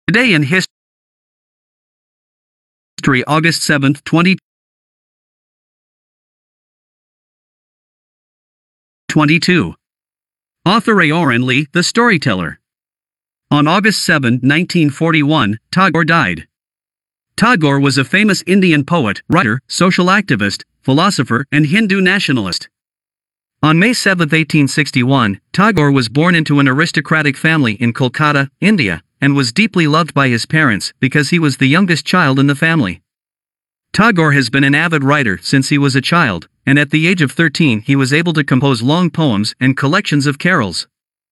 Today in History, August 7, 2022. Author Aoran Lee, the storyteller. On August 7, 1941, Tagore died. Tagore was a famous Indian poet, writer, social activist, philosopher, and Hindu nationalist. On May 7, 1861, Tagore was born into an aristocratic family in Kolkata, India, and was deeply loved by his parents because he was the youngest child in the family. Tagore has been an avid writer since he was a child, and at the age of 13 he was able to compose long poems and collections of carols.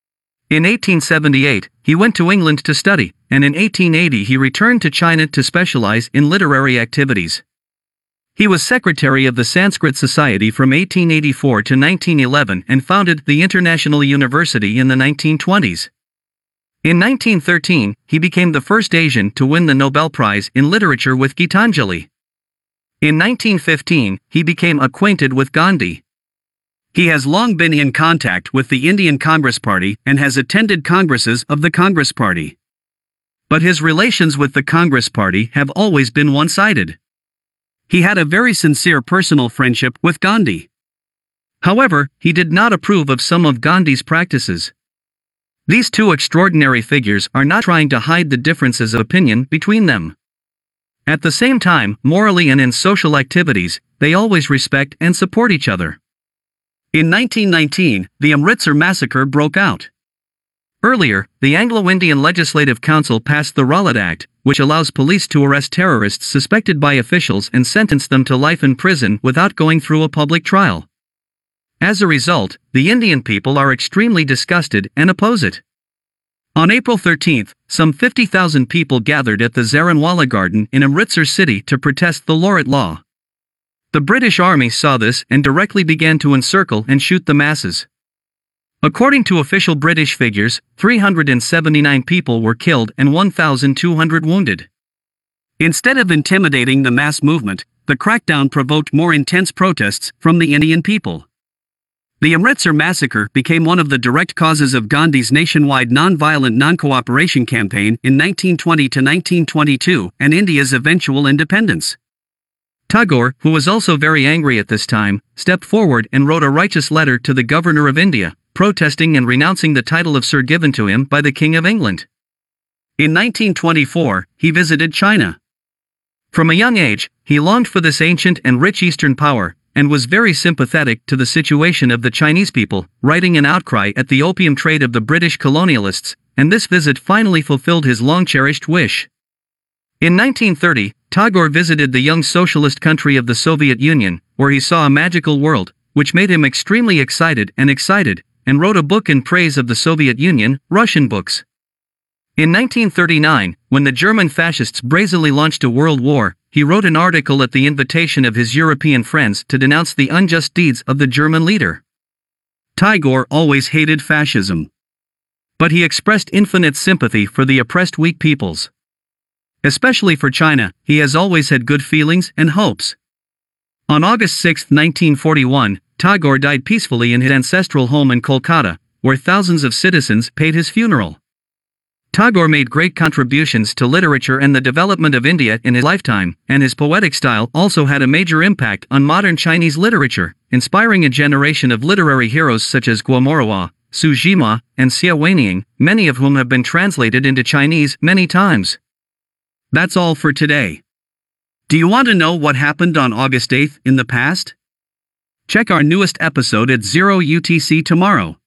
In 1878, he went to England to study, and in 1880 he returned to China to specialize in literary activities. He was secretary of the Sanskrit Society from 1884 to 1911 and founded the International University in the 1920s. In 1913, he became the first Asian to win the Nobel Prize in Literature with Gitanjali. In 1915, he became acquainted with Gandhi. He has long been in contact with the Indian Congress Party and has attended congresses of the Congress Party. But his relations with the Congress Party have always been one-sided. He had a very sincere personal friendship with Gandhi. However, he did not approve of some of Gandhi's practices. These two extraordinary figures are not trying to hide the differences of opinion between them. At the same time, morally and in social activities, they always respect and support each other. In 1919, the Amritsar massacre broke out. Earlier, the Anglo-Indian Legislative Council passed the Rowlatt Act, which allows police to arrest terrorists suspected by officials and sentence them to life in prison without going through a public trial. As a result, the Indian people are extremely disgusted and oppose it. On April 13, some 50,000 people gathered at the Zaranwala Garden in Amritsar city to protest the Laurat law. The British Army saw this and directly began to encircle and shoot the masses. According to official British figures, 379 people were killed and 1,200 wounded. Instead of intimidating the mass movement, the crackdown provoked more intense protests from the Indian people. The Amritsar massacre became one of the direct causes of Gandhi's nationwide non-violent non-cooperation campaign in 1920 to 1922 and India's eventual independence. Tagore, who was also very angry at this time, stepped forward and wrote a righteous letter to the Governor of India, protesting and renouncing the title of Sir given to him by the King of England. In 1924, he visited China. From a young age, he longed for this ancient and rich Eastern power, and was very sympathetic to the situation of the Chinese people, writing an outcry at the opium trade of the British colonialists, and this visit finally fulfilled his long-cherished wish. In 1930, Tagore visited the young socialist country of the Soviet Union, where he saw a magical world, which made him extremely excited, and wrote a book in praise of the Soviet Union, Russian books. In 1939, when the German fascists brazenly launched a world war, he wrote an article at the invitation of his European friends to denounce the unjust deeds of the German leader. Tagore always hated fascism. But he expressed infinite sympathy for the oppressed weak peoples. Especially for China, he has always had good feelings and hopes. On August 6, 1941, Tagore died peacefully in his ancestral home in Kolkata, where thousands of citizens paid his funeral. Tagore made great contributions to literature and the development of India in his lifetime, and his poetic style also had a major impact on modern Chinese literature, inspiring a generation of literary heroes such as Guo Moruo, Su Zhima, and Xia Weiniang, many of whom have been translated into Chinese many times. That's all for today. Do you want to know what happened on August 8 in the past? Check our newest episode at 0 UTC tomorrow.